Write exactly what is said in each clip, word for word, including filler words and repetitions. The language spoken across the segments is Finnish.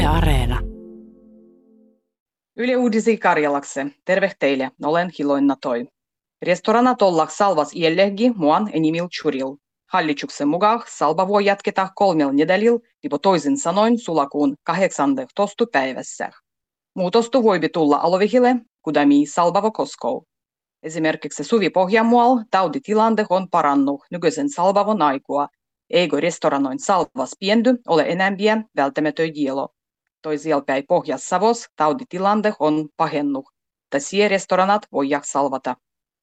Yle Areena. Yle Uudisi Karjalakse. Terve teille, olen Hiloina Toi. Restoranat olla salvas iellehgi muan enimil churil. Hallituksen mukaan salva voi jatketa kolmel nedälil, lipo toisin sanoin sulakuun kahdeksannestatoista päivässä. Muutostu voipi tulla alovihille, kudami salvavo koskou. Esimerkiksi Suvi Pohjanmual tauditilanne on parannut nykyisen salvavon aikua, eikö restoranoin salvas piendy ole enämpiä välttämätön dielo. Toisielpäin Pohjas-Savos tauditilanne on pahennut, mutta restoranat voivat salvata.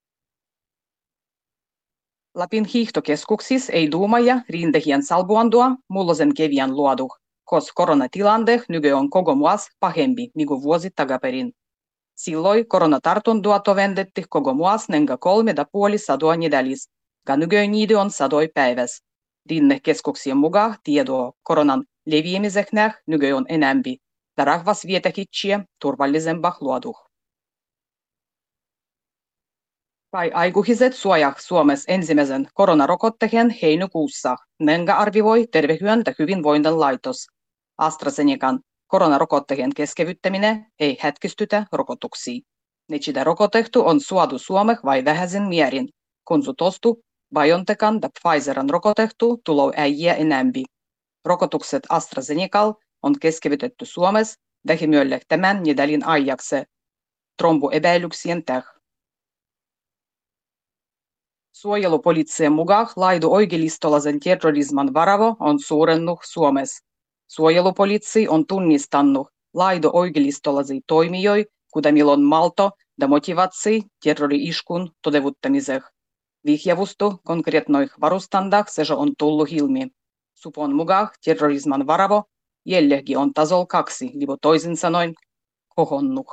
Lapin hiihtokeskuksissa ei duumaja rintehien salbuandua mullosen kevian luodu, koska koronatilanne nyky on koko muas pahempi niinku vuosi takaperin. Silloin koronatartundua tovendetti koko muas nenga kolme da puoli sadoa nedalis, ja nyky niidi on sadoi päiväs. Rinnekeskuksien mukaan tietoa koronan leviämisestä nyky on enämpi, ja rahvas vietäkitsiä turvallisempaa luoduh. Kai aikuiset suojaa Suomessa ensimmäisen koronarokotteen heinäkuussa, nenga arvioi Terveyden ja hyvinvoinnin laitos. AstraZenecan koronarokotteen keskeyttäminen ei hätkistytä rokotuksia. Nechida rokotettu on suodu Suomeen vai vähäisen mierin, kun su tostu BioNTechan ja Pfizeran rokotettu tulou äijä enämpi. Rokotukset AstraZenecal on keskeytetty Suomessa vähimölle tämän nedälin ajaksi tromboepäilyksien täh. Suojelupoliittien mukaan laidu oikeistolaisen terrorisman varavo on suurennut Suomessa. Suojelupoliitsi on tunnistanut laidu oikeistolaisia toimijoita, kuten milon malto ja motivaatsi terrori-iskun toteuttamiseen. Vihjavustu konkreetnoih varustandах se on tullut ilmi. Supon mukaan terrorisman varavo jälläkin on tasol kaksi, lipo toisin sanoen kohonnut.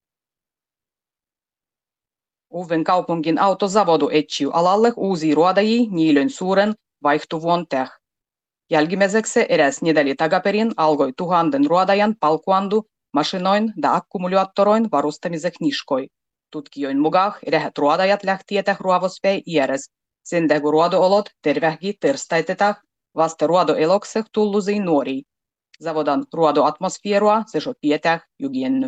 Uuden kaupungin autozavodu etsiu alalle uusia ruodajia niilön suuren vaihtuvuon täh. Jälkimmäiseksi eräs nedäli takaperin alkoi tuhannen ruodajan palkuandu masinoin ja akkumulaattoroin varustamiseksi niskoi. Tutkijoin mukaan eräät ruodajat lähtietä ruovospäin iäres, sen tähden ruodoolot tervehki terstaitetah vasta ruodoelokseh tullusiin nuorii. Zavodan ruodoatmosfierua se so pietäh jugienny.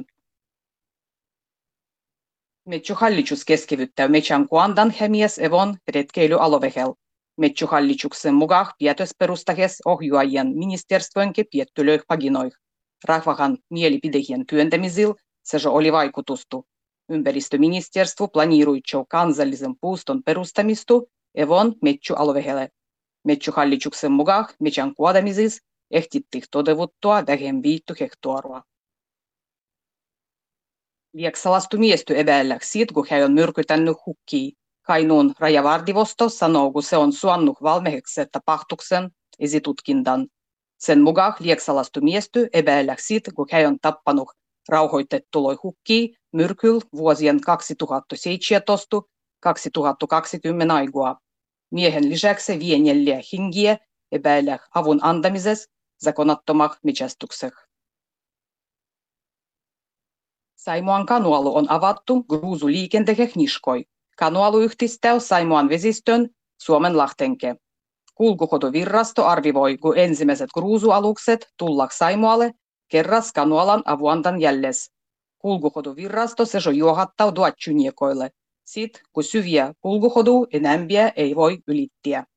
Metsähallitus keskeyttää metsän kuandan hemies evon retkeilyalovehel. Metsähallituksen mukaan päätösperustahes ohjuajien ministerstöönke piettylöih paginoih. Rahvahan mielipidehien työntämisil se oli vaikutustu. Ympäristöministeriö planiiruitsoo kansallisen puuston perustamistu evon metsäalovehelle. Metsähallituksen mukaan metsän kuodamisis ehtittiin toteuttaa vähem viitty hehtoarua. Lieksalastu miesty epäillä siitä, kun hän on myrkytänyt hukkia. Kainuun rajavartivosto sanoo, kun se on suannut valmiiksi tapahtuksen esitutkintan. Sen mukaan lieksalastu miesty epäillä siitä, kun hän on tappanut rauhoitettuloi hukkia myrkyl vuosien kaksituhattaseitsemäntoista kaksituhattakaksikymmentä aigua. Miehen lisäksi vie neljä hengiä epäillä avun antamisessa zakonattomah metsästyksessä. Saimaan kanualu on avattu gruusuliikenteelle niskoi. Kanualu yhdistää Saimaan vesistön Suomenlahtenke. Kulkuhoitovirrasto arvivoi, kun ensimmäiset gruusualukset tullak Saimaalle kerras kanualan avuantan jälles. Kulkuhoitovirrasto se jo johdattaa duatsuniekoille. Sit, kun syviä kulkuhoidu enämpiä ei voi ylittää.